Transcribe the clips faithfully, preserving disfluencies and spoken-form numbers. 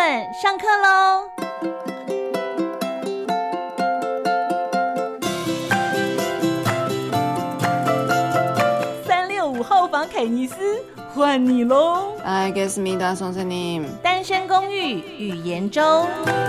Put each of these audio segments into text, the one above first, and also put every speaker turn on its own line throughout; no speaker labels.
們上課嘍！三六五號房凱尼斯，換你嘍！
알겠습니다, 선생님。
單身公寓語言週。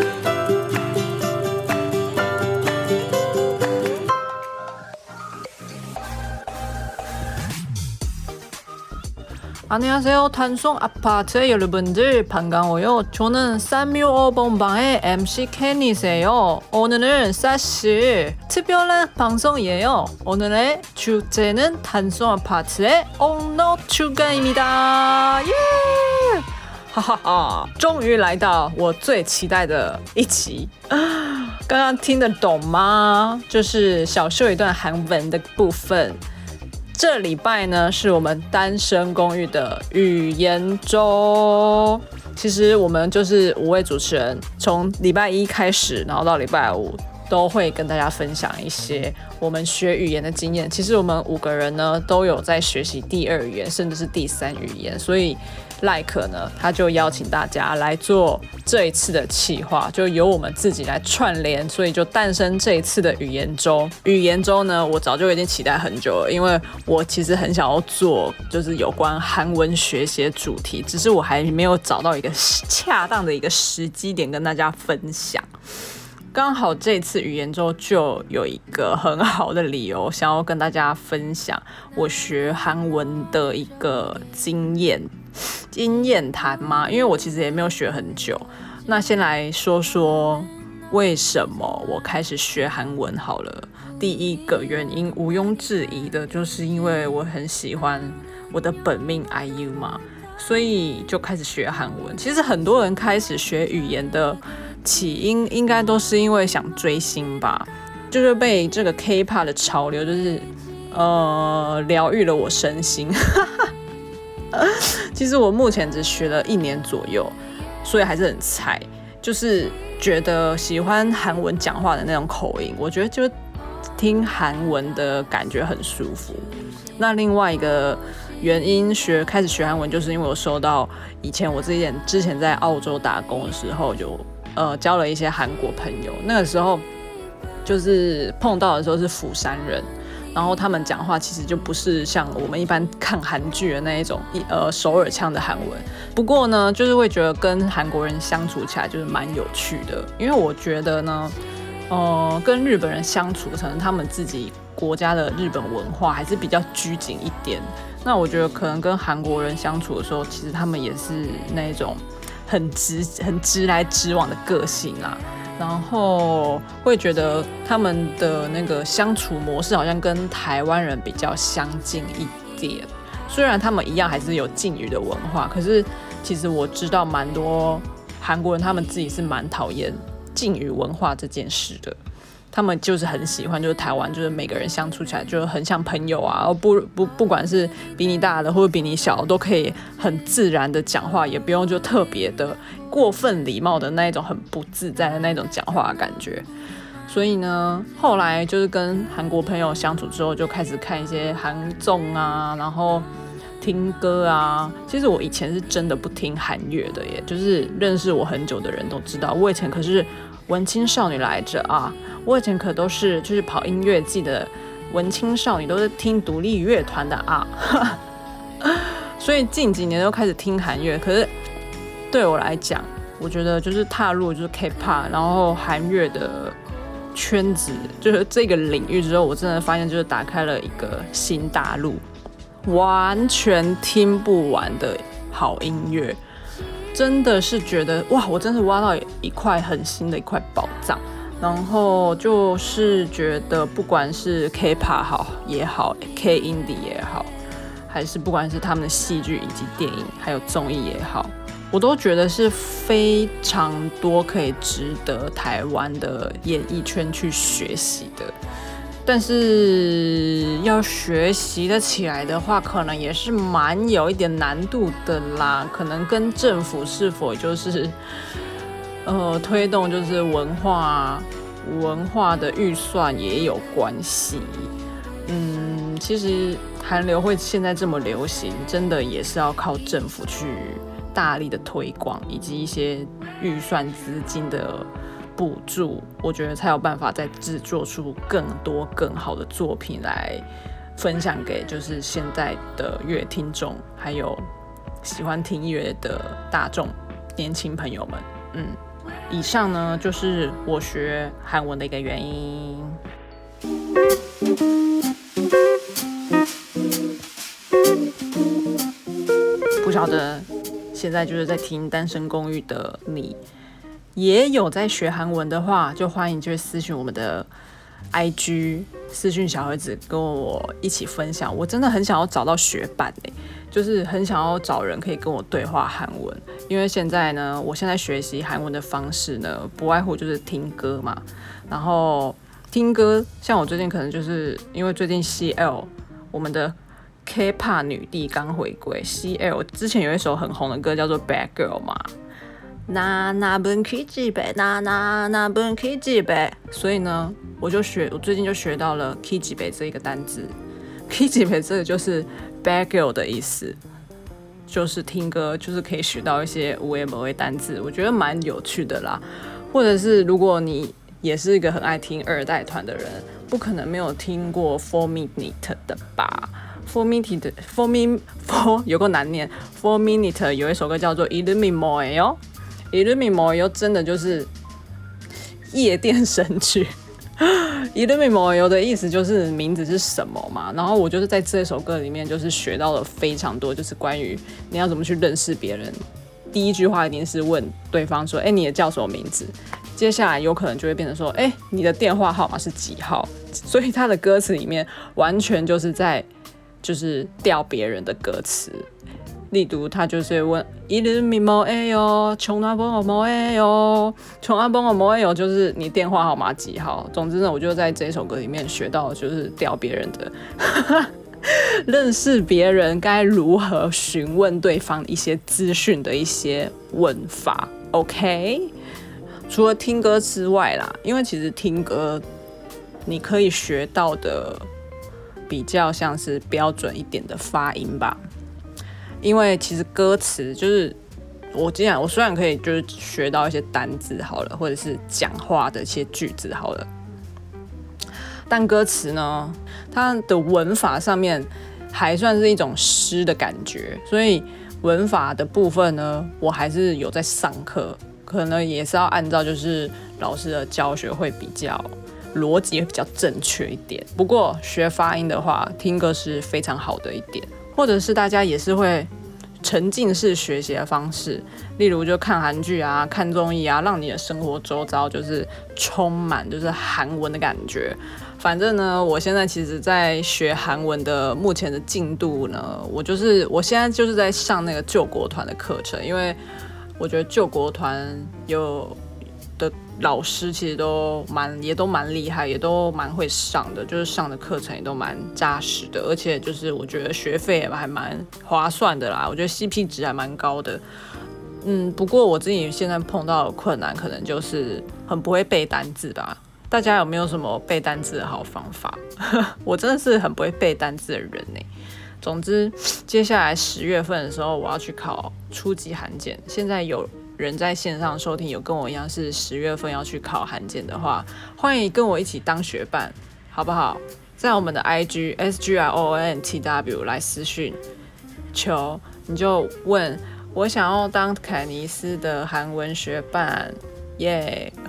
안녕하세요. 단성 아파트 여러분들 반가워요. 저는 삼육오 번방의 엠씨 캐니스예요. 오늘은 사실 특별한 방송이에요. 오늘의 주제는 단성 아파트의 옥러 추가입니다. 예! 哈哈哈！終於來到我最期待的一集。剛剛聽得懂嗎？就是小秀一段韓文的部分。這禮拜呢，是我們單身公寓的語言週。其實我們就是五位主持人，從禮拜一開始，然後到禮拜五，都會跟大家分享一些我們學語言的經驗。其實我們五個人呢，都有在學習第二語言，甚至是第三語言，所以賴可呢，他就邀請大家來做這一次的企劃，就由我們自己來串聯，所以就誕生這一次的語言週。語言週呢，我早就已經期待很久了，因為我其實很想要做就是有關韓文學習的主題，只是我還沒有找到一個恰當的一個時機點跟大家分享。剛好這次語言週就有一個很好的理由，想要跟大家分享我學韓文的一個經驗。經驗談嗎？因為我其實也沒有學很久。那先來說說為什麼我開始學韓文好了。第一個原因毋庸置疑的就是因為我很喜歡我的本命 I U 嘛，所以就開始學韓文。其實很多人開始學語言的起因應該都是因為想追星吧，就是被這個 K-pop 的潮流就是呃療癒了我身心。其實我目前只學了一年左右，所以還是很菜。就是覺得喜歡韓文講話的那種口音，我覺得就聽韓文的感覺很舒服。那另外一個原因學開始學韓文，就是因為我收到以前我之前之前在澳洲打工的時候，就呃交了一些韓國朋友。那個時候就是碰到的時候是釜山人。然後他們講話其實就不是像我們一般看韓劇的那一種呃首爾腔的韓文，不過呢，就是會覺得跟韓國人相處起來就是蠻有趣的，因為我覺得呢，呃，跟日本人相處，可能他們自己國家的日本文化還是比較拘謹一點。那我覺得可能跟韓國人相處的時候，其實他們也是那一種很直、很直來直往的個性啊。然後會覺得他們的那個相處模式好像跟台灣人比較相近一點，雖然他們一樣還是有敬語的文化，可是其實我知道蠻多韓國人他們自己是蠻討厭敬語文化這件事的。他們就是很喜歡，就是台灣，就是每個人相處起來就很像朋友啊，不不不管是比你大的或者比你小，都可以很自然的講話，也不用就特別的過分禮貌的那一種很不自在的那種講話的感覺。所以呢，後來就是跟韓國朋友相處之後，就開始看一些韓綜啊，然後聽歌啊。其實我以前是真的不聽韓樂的耶，就是認識我很久的人都知道，我以前可是文青少女來着啊。我以前可都是就是跑音樂季的文青少女，都是聽獨立樂團的啊，所以近幾年都開始聽韓樂。可是對我來講，我覺得就是踏入就是 K-pop， 然後韓樂的圈子，就是這個領域之後，我真的發現就是打開了一個新大陸，完全聽不完的好音樂，真的是覺得哇，我真是挖到一塊很新的一塊寶藏。然後就是覺得，不管是 K-pop 好也好 ，K-indie 也好，還是不管是他們的戲劇以及電影，還有綜藝也好，我都覺得是非常多可以值得台灣的演藝圈去學習的。但是要學習得起來的話，可能也是蠻有一點難度的啦。可能跟政府是否就是呃，推動就是文化文化的預算也有關係。嗯，其實韓流會現在這麼流行，真的也是要靠政府去大力的推廣以及一些預算資金的補助，我覺得才有辦法再製作出更多更好的作品來分享給就是現在的樂聽眾，還有喜歡聽音樂的大眾年輕朋友們。嗯，以上呢就是我學韓文的一個原因。不曉得現在就是在聽單身公寓的你，也有在學韓文的話，就歡迎就是私訊我們的 I G 私訊小盒子跟我一起分享。我真的很想要找到學伴欸，就是很想要找人可以跟我對話韓文。因為現在呢，我現在學習韓文的方式呢，不外乎就是聽歌嘛。然後聽歌，像我最近可能就是因為最近 C L 我們的 K-pop 女帝剛回歸 ，C L 之前有一首很紅的歌叫做 Bad Girl 嘛。那那本 Kiji 唄，那那那本 Kiji 唄，所以呢，我就學，我最近就學到了 Kiji 唄這一個單字。Kiji 唄這個就是 Bad Girl 的意思，就是聽歌就是可以學到一些有的沒的單字，我覺得蠻有趣的啦。或者是如果你也是一個很愛聽二代團的人，不可能沒有聽過 Four Minute 的吧？ Four Minute Four Min Four 有夠難念 Four Minute 有一首歌叫做 Illumi Moe Illumi Moe 真的就是夜店神曲。Illumi Moe 的意思就是名字是什麼嘛，然後我就是在這首歌裡面就是學到了非常多，就是關於你要怎麼去認識別人。第一句話一定是問對方說，哎、欸，你的叫什麼名字？接下來有可能就會變成說，哎、欸，你的電話號碼是幾號？所以他的歌詞裡面完全就是在就是釣別人的歌詞。例如他就是問 Illumi Moe yo， 窮阿崩我 Moe yo， 窮阿崩我 Moe yo， 就是你電話號碼幾號？總之呢，我就在這首歌裡面學到就是釣別人的認識別人該如何詢問對方一些資訊的一些問法。 OK， 除了聽歌之外啦，因為其實聽歌你可以學到的比較像是標準一點的發音吧，因為其實歌詞就是我既然我雖然可以就是學到一些單字好了，或者是講話的一些句子好了，但歌詞呢，它的文法上面還算是一種詩的感覺，所以文法的部分呢，我還是有在上課，可能也是要按照就是老師的教學會比較邏輯會比較正確一點。不過學發音的話，聽歌是非常好的一點，或者是大家也是會沉浸式學習的方式，例如就看韓劇啊、看綜藝啊，讓你的生活周遭就是充滿就是韓文的感覺。反正呢，我現在其實在學韓文的目前的進度呢，我就是我現在就是在上那個救國團的課程，因為我覺得救國團有的老師其實都蠻也都蠻厲害，也都蠻會上的，就是上的課程也都蠻扎實的，而且就是我覺得學費也還蠻划算的啦，我覺得 C P 值還蠻高的。嗯，不過我自己現在碰到的困難可能就是很不會背單字吧。大家有沒有什麼背單字的好方法？我真的是很不會背單字的人欸。總之，接下來十月份的時候，我要去考初級韓檢。現在有人在線上收聽，有跟我一樣是十月份要去考韓檢的話，歡迎跟我一起當學伴，好不好？在我們的 I G S G R O N T W 來私訊求，你就問我想要當凱尼斯的韓文學伴，耶、yeah ！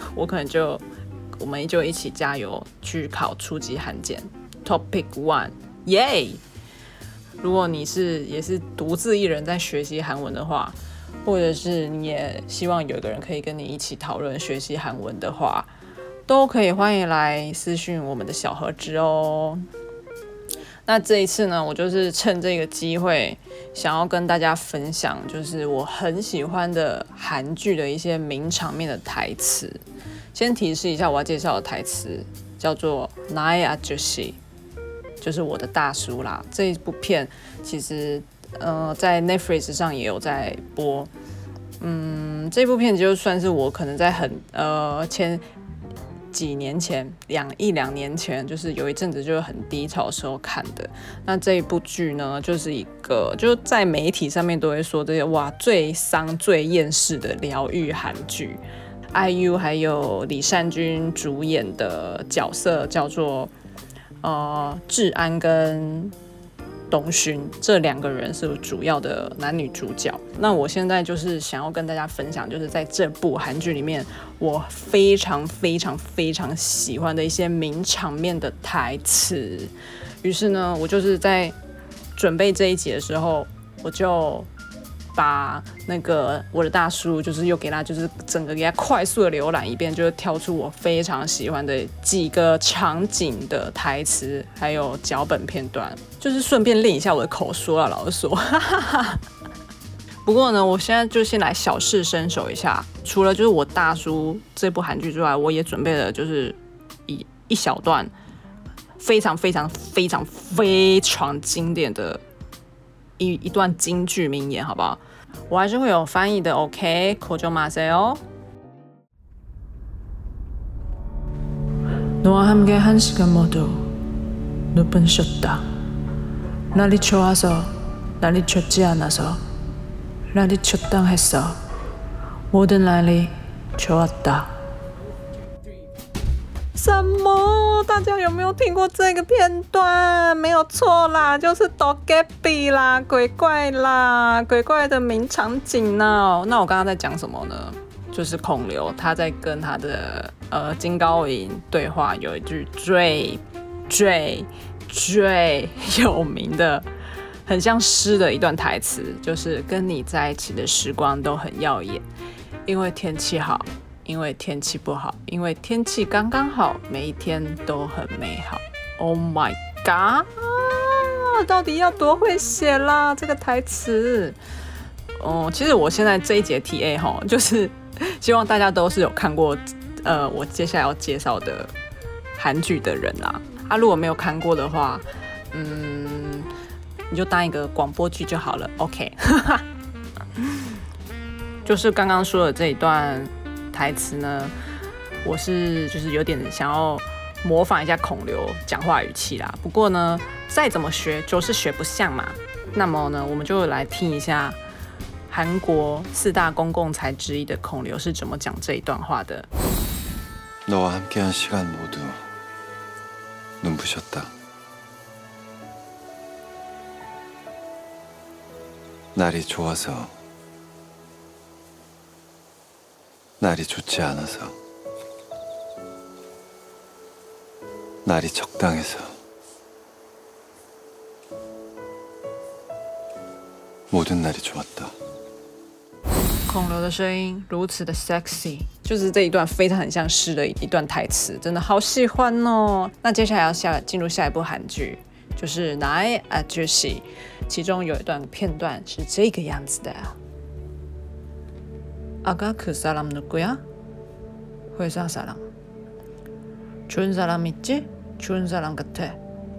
我可能就。我們就一起加油去考初級韓檢 Topic One， 耶、yeah! 如果你是也是獨自一人在學習韓文的話，或者是你也希望有一個人可以跟你一起討論學習韓文的話，都可以歡迎來私訊我們的小盒子哦。那這一次呢，我就是趁這個機會，想要跟大家分享，就是我很喜歡的韓劇的一些名場面的台詞。先提示一下，我要介紹的台詞叫做《나의 아저씨》，就是我的大叔啦。這一部片其實呃在 Netflix 上也有在播。嗯，這部片就算是我可能在很呃前幾年前，兩一兩年前，就是有一陣子就是很低潮的時候看的。那這一部劇呢，就是一個就在媒體上面都會說這些哇最傷最厭世的療癒韓劇。I U 還有李善均主演的角色叫做呃智安跟東勳，這兩個人是主要的男女主角。那我現在就是想要跟大家分享，就是在這部韓劇裡面，我非常非常非常喜歡的一些名場面的台詞。於是呢，我就是在準備這一集的時候，我就把那個我的大叔，就是又給他，就是整個給他快速的瀏覽一遍，就是挑出我非常喜歡的幾個場景的台詞，還有腳本片段，就是順便練一下我的口說啊，老實說。不過呢，我現在就先來小試身手一下，除了就是我大叔這部韓劇之外，我也準備了就是一一小段非常非常非常非常經典的。一, 一段金句名言，好不好？我還是會有翻譯的 ，OK？ 걱정 마세요。너와 함께 한 시간 모두 눈을 쉬었다. 날이 좋아서, 날이 좋지 않아서, 날이 적당했어. 모든 날이 좋았다.什麼？大家有沒有聽過這個片段？沒有錯啦，就是도깨비啦，鬼怪啦，鬼怪的名場景呢。那我剛剛在講什麼呢？就是孔劉他在跟他的呃金高銀對話，有一句最最最有名的，很像詩的一段台詞，就是跟你在一起的時光都很耀眼，因為天氣好。因為天氣不好，因為天氣剛剛好，每一天都很美好。Oh my god！、啊、到底要多會寫啦這個台詞？哦、嗯，其實我現在這一節 T A 齁，就是希望大家都是有看過呃我接下來要介紹的韓劇的人啦。啊，如果沒有看過的話，嗯，你就當一個廣播劇就好了。OK， 就是剛剛說的這一段台詞呢，我是就是有點想要模仿一下孔劉講話語氣啦。不過呢，再怎麼學就是學不像嘛。那麼呢，我們就來聽一下韓國四大公共財之一的孔劉是怎麼講這一段話的。
너와 함께한 시간 모두 눈부셨다. 날이 좋아서, 날이 좋지 않아서, 날이 적당해서, 모든 날이 좋았다.
孔劉的聲音如此的 sexy， 就是這一段非常很像詩的一段台詞，真的好喜歡哦。那接下來要下進入下一部韓劇，就是《나의 아저씨》，其中有一段片段是這個樣子的。아가 그 사람 누구야? 회사 사람. 좋은 사람 있지? 좋은 사람 같아.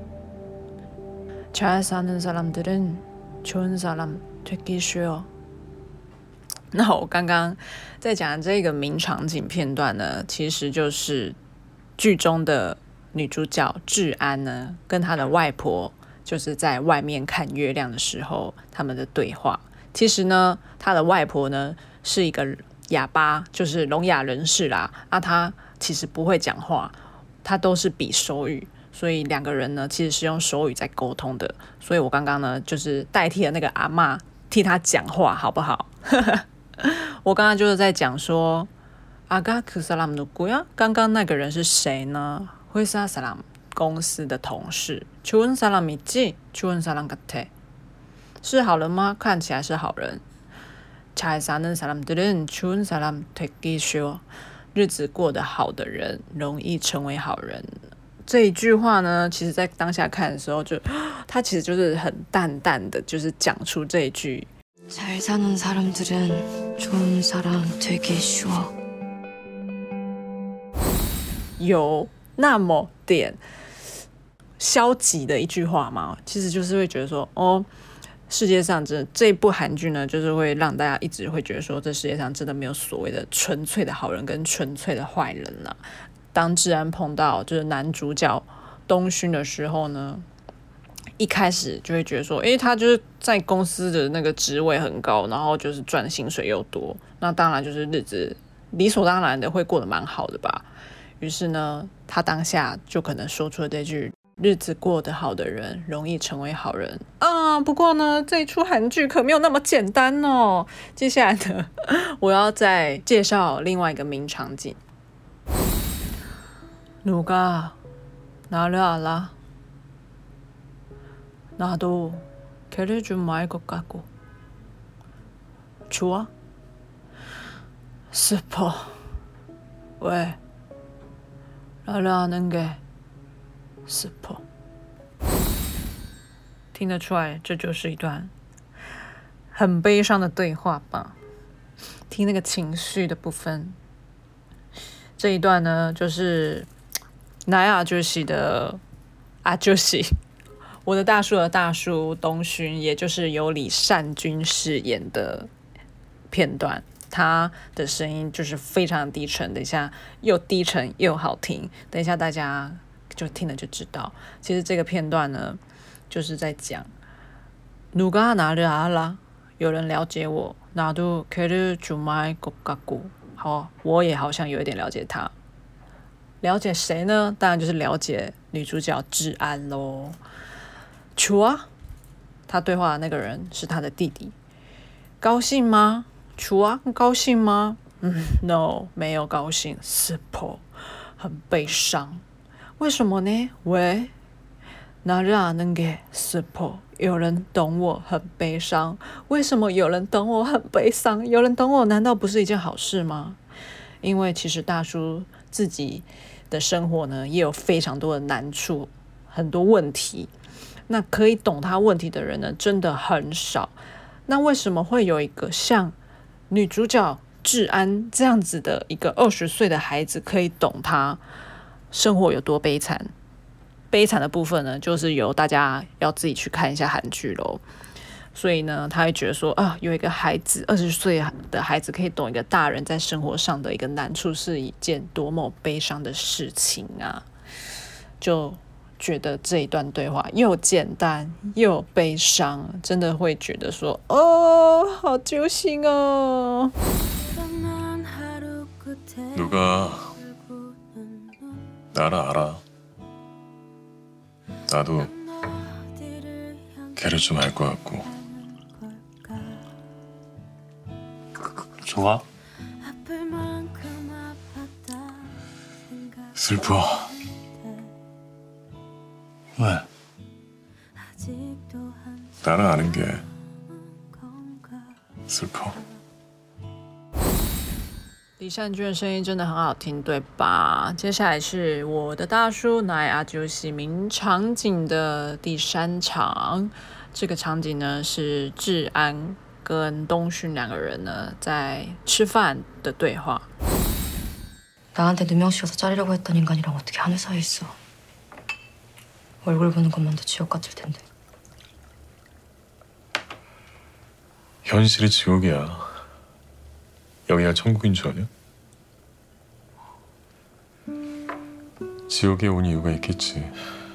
잘 사는 사람들은 좋은 사람 되기 쉬워. 那我剛剛在講的這個名場景片段呢，其實就是劇中的女主角智安呢，跟她的外婆就是在外面看月亮的時候，他們的對話。其實呢，她的外婆呢是一個啞巴，就是聾啞人士啦。啊，她其實不會講話，她都是比手語，所以兩個人呢其實是用手語在溝通的。所以我剛剛呢就是代替了那個阿嬤替她講話，好不好？我剛剛就是在講說，아가 그 사람 누구야？剛剛那個人是誰呢？회사 사람，公司的同事。좋은 사람 있지？좋은 사람 같아。是好人嗎？看起來是好人。잘 사는 사람들은 좋은 사람 되기 쉬워。日子過得好的人容易成為好人。這一句話呢，其實在當下看的時候就，就他其實就是很淡淡的，就是講出這一句。잘 사는 사람들은 좋은 사람 되기 쉬워。有那麼點消極的一句話嗎？其實就是會覺得說，哦，世界上這這部韓劇呢，就是會讓大家一直會覺得說，這世界上真的沒有所謂的純粹的好人跟純粹的壞人了。 當志安碰到就是男主角東勳的時候呢，一開始就會覺得說，誒，他就是在公司的那個職位很高，然後就是賺薪水又多，那當然就是日子理所當然的會過得蠻好的吧。於是呢，他當下就可能說出了這句：日子過得好的人容易成為好人啊。不過呢，這一出韓劇可沒有那麼簡單哦。接下來呢，我要再介紹另外一個名場景。누가 나를 알아? 나도 걔를 좀 알 것 같고. 좋아? 슬퍼. 왜? 나를 아는 게 슬퍼. 聽得出來，這就是一段很悲傷的對話吧？聽那個情緒的部分，這一段呢，就是나의 아저씨的아저씨，我的大叔的大叔東勳，也就是由李善均飾演的片段。他的聲音就是非常低沉，等一下又低沉又好聽，等一下大家就聽了就知道。其實這個片段呢，就是在講누가 나를 알아，有人了解我，나도 걔를 좀 알 것 같고，好，我也好像有一點了解他。了解誰呢？當然就是了解女主角志安咯。좋아，他對話的那個人是他的弟弟。高興嗎？좋아，高興嗎？嗯 ，no， 沒有高興。슬퍼，很悲傷。為什麼呢？喂，나를 아는 게 슬퍼，有人懂我很悲傷。為什麼有人懂我很悲傷？有人懂我難道不是一件好事嗎？因為其實大叔自己的生活呢，也有非常多的難處，很多問題。那可以懂他問題的人呢，真的很少。那為什麼會有一個像女主角志安這樣子的一個二十歲的孩子可以懂他生活有多悲慘？悲慘的部分呢，就是由大家要自己去看一下韓劇咯。所以呢，他會覺得說啊，有一個孩子二十歲的孩子可以懂一個大人在生活上的一個難處，是一件多麼悲傷的事情啊！就覺得這一段對話又簡單又悲傷，真的會覺得說哦，好揪心哦。
누가 나를 알아? 나도 걔를 좀 알 것 같고. 좋아? 슬퍼. 왜? 나를 아는 게 슬퍼.
李善均的聲音真的很好聽，對吧？接下來是我的大叔나의 아저씨名場景的第三場。這個場景呢，是志安跟東勳兩個人呢在吃飯的對話。
나한테 누명씌워서 자르려고 했던 인간이랑 어떻게 하늘 사이에 있어? 얼굴 보는 것만도 지옥 같을 텐데.
현실이 지옥이야. 여기가 천국인 줄 아냐? 지옥에 온 이유가 있겠지.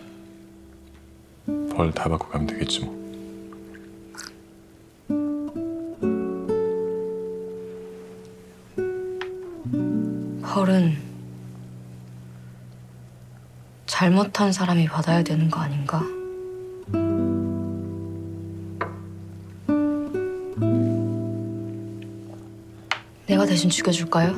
벌 다 받고 가면 되겠지 뭐.
벌은 잘못한 사람이 받아야 되는 거 아닌가? 내가 대신 죽여줄까요?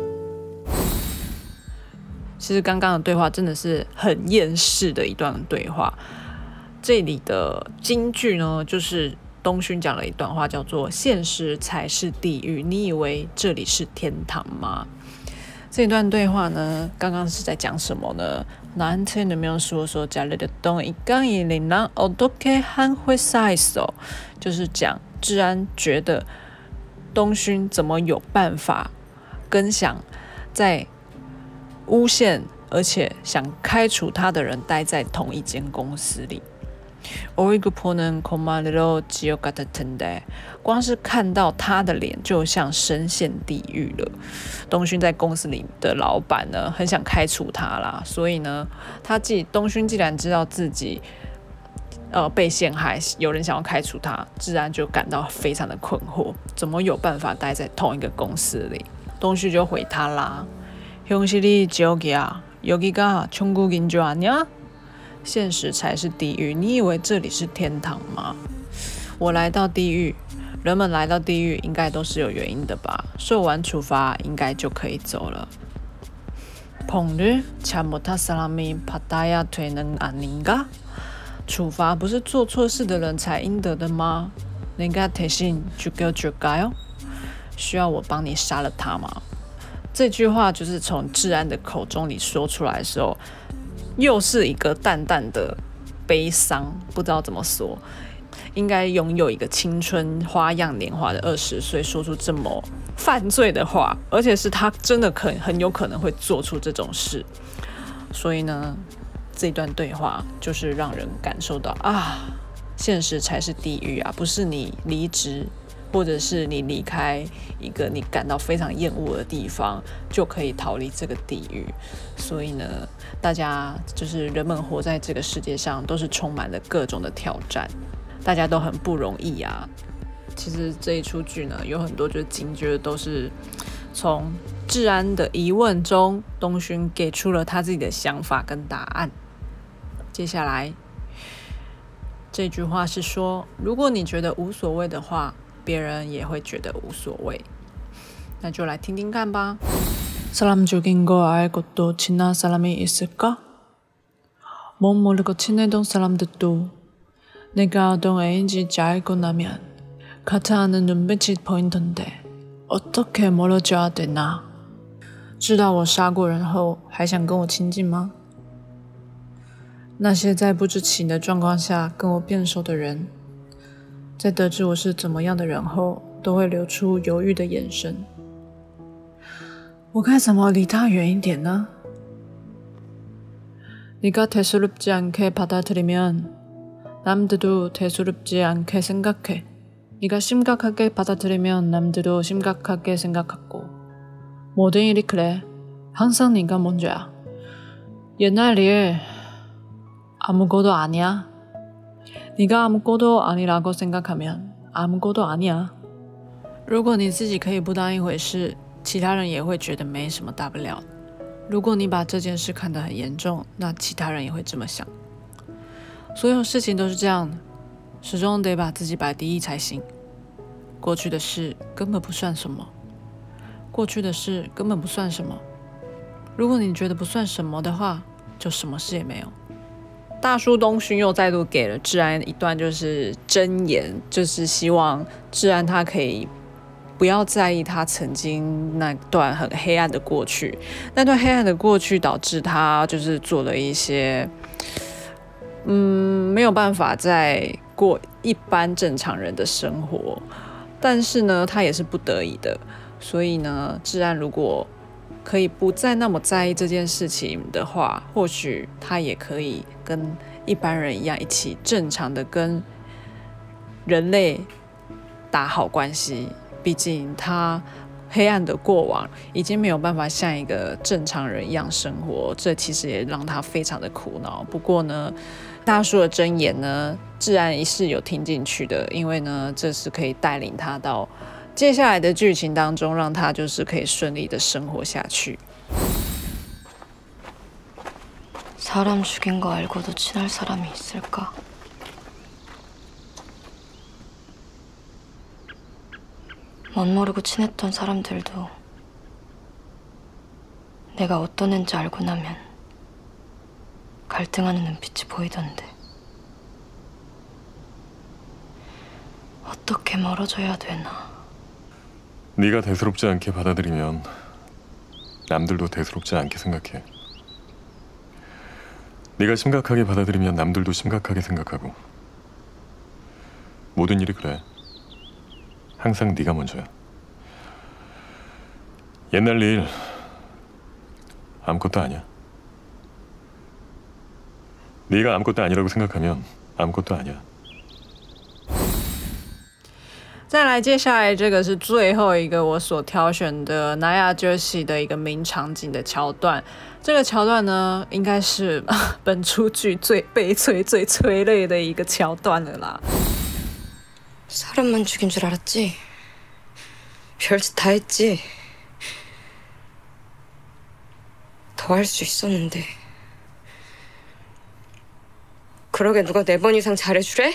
其實剛剛的對話真的是很厭世的一段對話。這裡的金句呢，就是東勳講了一段話，叫做"現實才是地獄，你以為這裡是天堂嗎？"這段對話呢，剛剛是在講什麼呢？나한테 누명씌워서 자르려던 인간이랑 어떻게 한 회사에서，就是講志安覺得東勳怎麼有辦法跟想在誣陷而且想開除他的人待在同一間公司裡。 얼굴 보는 것만으로 지옥 같을 텐데，光是看到他的臉就像深陷地獄了。東勳在公司裡的老闆呢，很想開除他啦，所以呢，他既東勳既然知道自己呃被陷害，有人想要開除他，自然就感到非常的困惑，怎麼有辦法待在同一個公司裡？東勳就回他啦，현실이 지옥이야，여기가 천국인 줄 아냐？現實才是地獄，你以為這裡是天堂嗎？我來到地獄，人們來到地獄應該都是有原因的吧？受完處罰應該就可以走了。폭력 잘못한 사람이 받아야 되는 아닌가？處罰不是做錯事的人才應得的嗎？내가 대신 죽여줄까요？需要我幫你殺了他嗎？這句話就是從智安的口中裡說出來的時候，又是一個淡淡的悲傷，不知道怎麼說。應該擁有一個青春花樣年華的二十歲，說出這麼犯罪的話，而且是他真的可很有可能會做出這種事。所以呢，這段對話就是讓人感受到啊，現實才是地獄啊，不是你離職或者是你離開一個你感到非常厭惡的地方就可以逃離這個地獄。所以呢，大家就是人們活在這個世界上都是充滿了各種的挑戰，大家都很不容易啊。其實這一出劇呢，有很多就是金句都是從智安的疑問中，東勳給出了他自己的想法跟答案。接下來這句話是說，如果你覺得無所謂的話，別人也會覺得無所謂。那就來聽聽看吧。사람 죽인 거 알고도 친한 사람이 있을까? 못 모르고 친해던 사람들도 내가 어떤 애인지 알고 나면 같아하는 눈빛이 보이던데 어떻게 멀어져야 되나? 知道我殺過人後還想跟我親近嗎？那些在不知情的狀況下跟我變熟的人，在得知我是怎麼樣的人後，都會流出猶豫的眼神。我該怎麼離他遠一點呢？ 네가 대수롭지 않게 받아들이면 남들도 대수롭지 않게 생각해. 네가 심각하게 받아들이면 남들도 심각하게 생각하고 모든 일이 그래. 항상 네가 먼저야. 옛날 일 아무것도 아니야. 네가 아무것도 아니라고 생각하면 아무것도 아니야. 如果你自己可以不當一回事，其他人也會覺得沒什麼大不了。如果你把這件事看得很嚴重，那其他人也會這麼想。所有事情都是這樣的，始終得把自己擺第一才行。過去的事根本不算什麼，過去的事根本不算什麼。如果你覺得不算什麼的話，就什麼事也沒有。大叔東勳又再度給了智安一段就是箴言，就是希望智安他可以不要在意他曾經那段很黑暗的過去，那段黑暗的過去導致他就是做了一些嗯沒有辦法再過一般正常人的生活，但是呢他也是不得已的。所以呢，智安如果可以不再那麼在意這件事情的話，或許他也可以跟一般人一樣，一起正常的跟人類打好關係。畢竟他黑暗的過往已經沒有辦法像一個正常人一樣生活，這其實也讓他非常的苦惱。不過呢，大叔的箴言呢，智安是有聽進去的，因為呢，這是可以帶領他到接下來的劇情當中，讓他就是可以順利的生活下去。
사람 죽인 거 알고도 친할 사람이 있을까? 못 모르고 친했던 사람들도 내가 어떤 애인지 알고 나면 갈등하는 눈빛이 보이던데 어떻게 멀어져야 되나?
네가 대수롭지 않게 받아들이면 남들도 대수롭지 않게 생각해. 네가 심각하게 받아들이면 남들도 심각하게 생각하고 모든 일이 그래. 항상 네가 먼저야. 옛날 일 아무것도 아니야. 네가 아무것도 아니라고 생각하면 아무것도 아니야.
再来，接下來這個是最後一個我所挑選的나야 저씨的一個名場景的橋段。這個橋段呢，應該是本出劇最悲催、最催淚的一個橋段了啦。
사람만 죽인 줄 알았지? 별짓 다 했지? 더 할 수 있었는데. 그러게 누가 네 번 이상 잘해주래?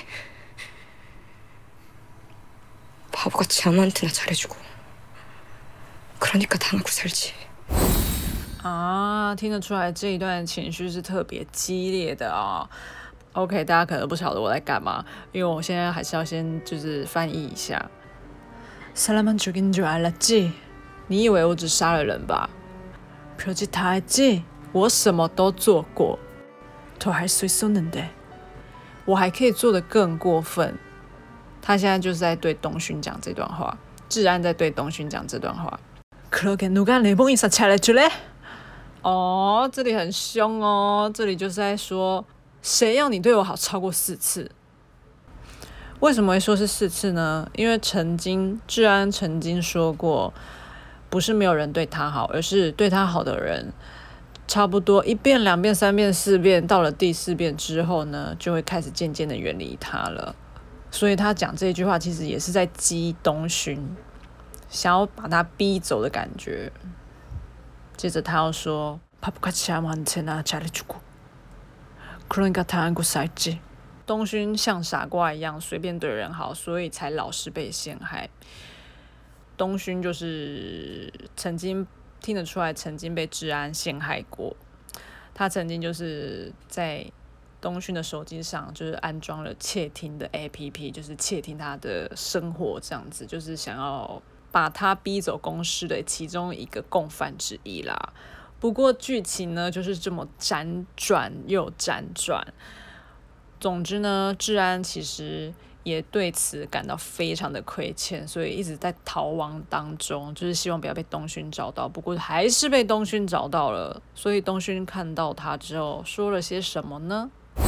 바보같이 아무한테나 잘해주고. 그러니까 당하고 살지.
啊，听得出來這一段情緒是特別激烈的啊、哦。OK， 大家可能不曉得我在幹嘛，因為我現在還是要先就是翻譯一下。사람만 죽인 줄 알았지？你以為我只殺了人吧？별짓 다 했지？我什麼都做過。더 할 수 있었는데，我還可以做得更過分。他現在就是在對東勳講這段話，智安在對東勳講這段話。그러게 누가 내 몸 이상 잘해줄래？哦，這裡很兇哦，這裡就是在說，誰要你對我好超過四次？為什麼會說是四次呢？因為曾經智安曾經說過，不是沒有人對他好，而是對他好的人，差不多一遍、兩遍、三遍、四遍，到了第四遍之後呢，就會開始漸漸的遠離他了。所以他講這句話，其實也是在激東勳，想要把他逼走的感覺。接着他要說바보같이 아무한테나 잘해주고 그러니까 당하고 살지。東勳像傻瓜一樣隨便對人好，所以才老是被陷害。東勳就是曾經聽得出來，曾經被智安陷害過。他曾經就是在東勳的手機上就是安裝了竊聽的 A P P， 就是竊聽他的生活，這樣子就是想要把他逼走公司的其中一個共犯之一啦。不過劇情呢就是這麼輾轉又輾轉。總之呢，智安其實也對此感到非常的虧欠，所以一直在逃亡當中，就是希望不要被東勳找到。不過還是被東勳找到了，所以東勳看到他之後說了些什麼呢？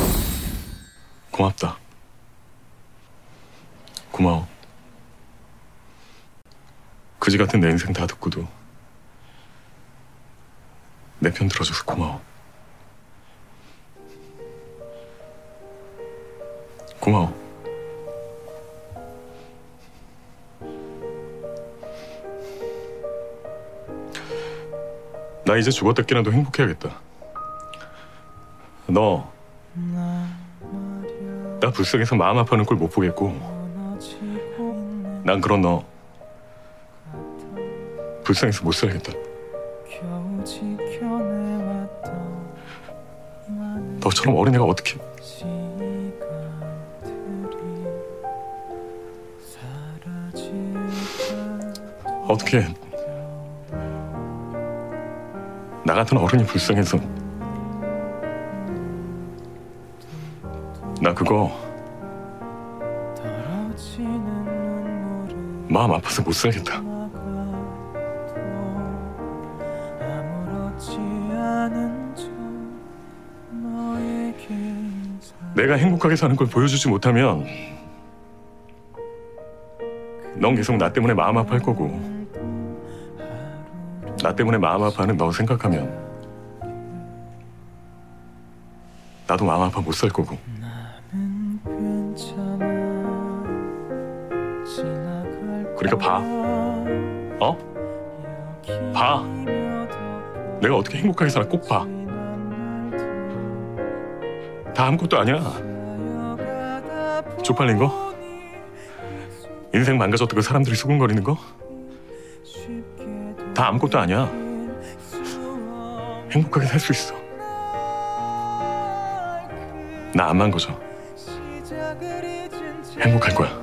고맙다. 고마워. 그지 같은 내 인생 다 듣고도 내 편 들어줘서 고마워. 고마워. 나 이제 죽었다 깨나도 행복해야겠다. 너 나 불쌍해서 마음 아파하는 꼴 못 보겠고, 난 그런 너 불쌍해서 못 살겠다. 너처럼 어린애가 어떻게? 어떻게 나 같은 어른이 불쌍해서 나 그거 마음 아파서 못 살겠다. 내가 행복하게 사는 걸 보여주지 못하면 넌 계속 나 때문에 마음 아파할 거고, 나 때문에 마음 아파하는 너 생각하면 나도 마음 아파 못 살 거고. 그러니까 봐. 어? 봐. 내가 어떻게 행복하게 살아 꼭 봐. 다 아무것도 아니야. 쪽팔린 거? 인생 망가졌다고 사람들이 수군거리는 거? 다 아무것도 아니야. 행복하게 살 수 있어. 나 안 망가져. 행복할 거야.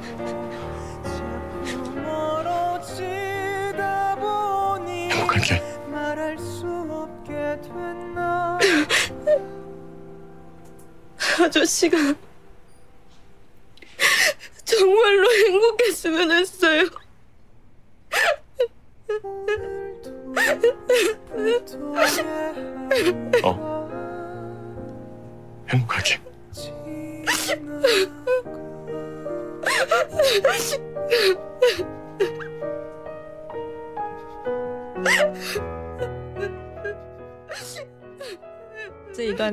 행복할게.
아저씨가 정말로 행복했으면 했어요.
어, 행복할게.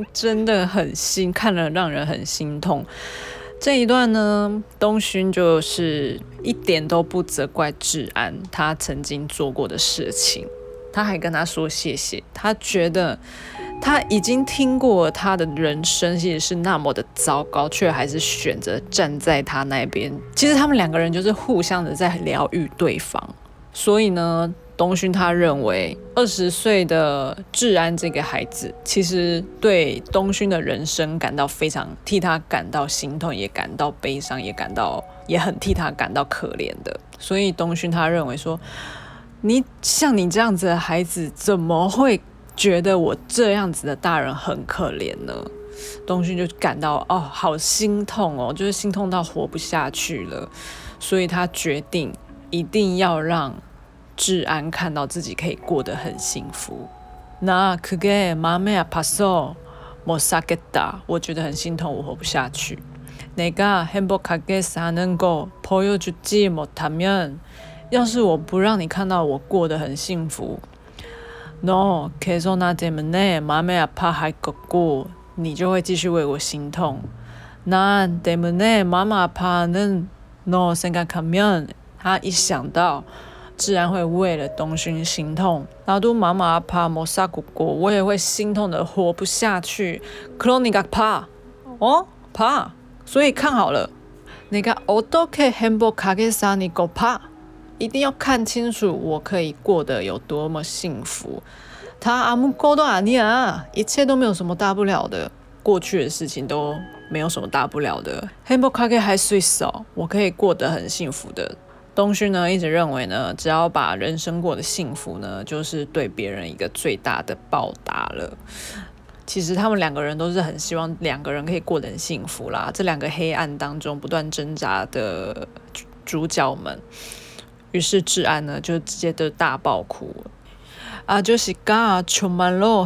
真的很心，看了讓人很心痛。這一段呢，東勳就是一點都不責怪智安他曾經做過的事情，他還跟他說謝謝。他覺得他已經聽過他的人生其實是那麼的糟糕，卻還是選擇站在他那邊。其實他們兩個人就是互相的在療癒對方。所以呢，東勳他認為二十歲的智安這個孩子，其實對東勳的人生感到非常替他感到心痛，也感到悲傷，也感到也很替他感到可憐的。所以東勳他認為說，你像你這樣子的孩子，怎麼會覺得我這樣子的大人很可憐呢？東勳就感到哦，好心痛哦，就是心痛到活不下去了。所以他決定一定要讓智安看到自己可以過得很幸福。那그게 마음이 아파서 못 살겠다。我覺得很心痛，我活不下去。내가 행복하게 사는 거 보여주지 못하면，要是我不讓你看到我過得很幸福，너 계속 나 때문에 마음이 아파할 거고，你就會繼續為我心痛。나 때문에 마음 아파하는 너 생각하면，他一想到自然會為了東勳心痛，나도 마음 아파 못 살겠고，我也會心痛的活不下去。그러니까 봐，哦봐，所以看好了，내가 어떻게 행복하게 사니까 봐，一定要看清楚我可以過得有多麼幸福。다 아무것도 아니야，一切都沒有什麼大不了的，過去的事情都沒有什麼大不了的。행복하게 할 수 있어，我可以過得很幸福的。東勳呢一直認為呢，只要把人生過得幸福呢，就是對別人一個最大的報答了。其實他們兩個人都是很希望兩個人可以過得很幸福啦。這兩個黑暗當中不斷掙扎的主角們，於是智安呢就直接就大爆哭。아저씨가 정말로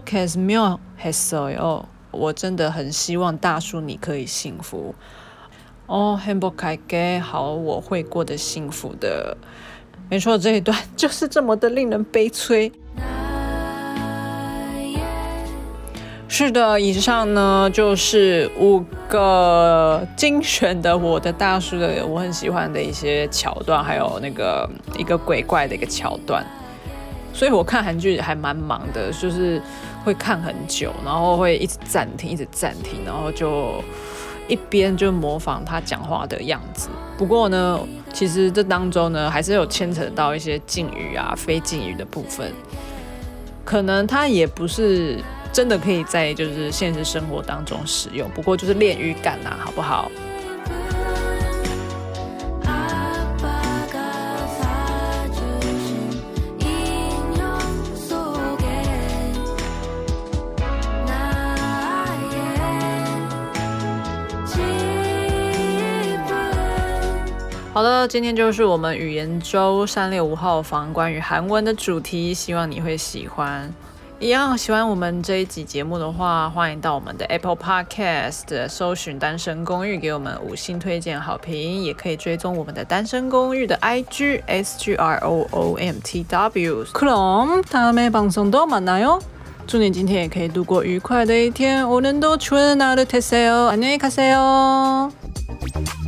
행복했으면 했어요。我真的很希望大叔你可以幸福。哦，행복할게，好，我會過得幸福的。沒錯，這一段就是這麼的令人悲催。是的，以上呢就是五個精選的我的大叔的我很喜歡的一些橋段，還有那個一個鬼怪的一個橋段。所以我看韓劇還蠻忙的，就是會看很久，然後會一直暫停，一直暫停，然後就一邊就模仿他講話的樣子。不過呢，其實這當中呢，還是有牽扯到一些敬語啊、非敬語的部分，可能他也不是真的可以在就是現實生活當中使用，不過就是練語感啊，好不好？好的，今天就是我們語言週三六五號房關於韓文的主題，希望你會喜歡。一樣喜歡我們這一集節目的話，歡迎到我們的 Apple Podcast 搜尋單身公寓，給我們五星推薦好評，也可以追蹤我們的單身公寓的 I G S G R O O M T W。그럼 다음에 방송도 만나요。祝你今天也可以度過愉快的一天，오늘도 좋은 하루 되세요。안녕히 가세요。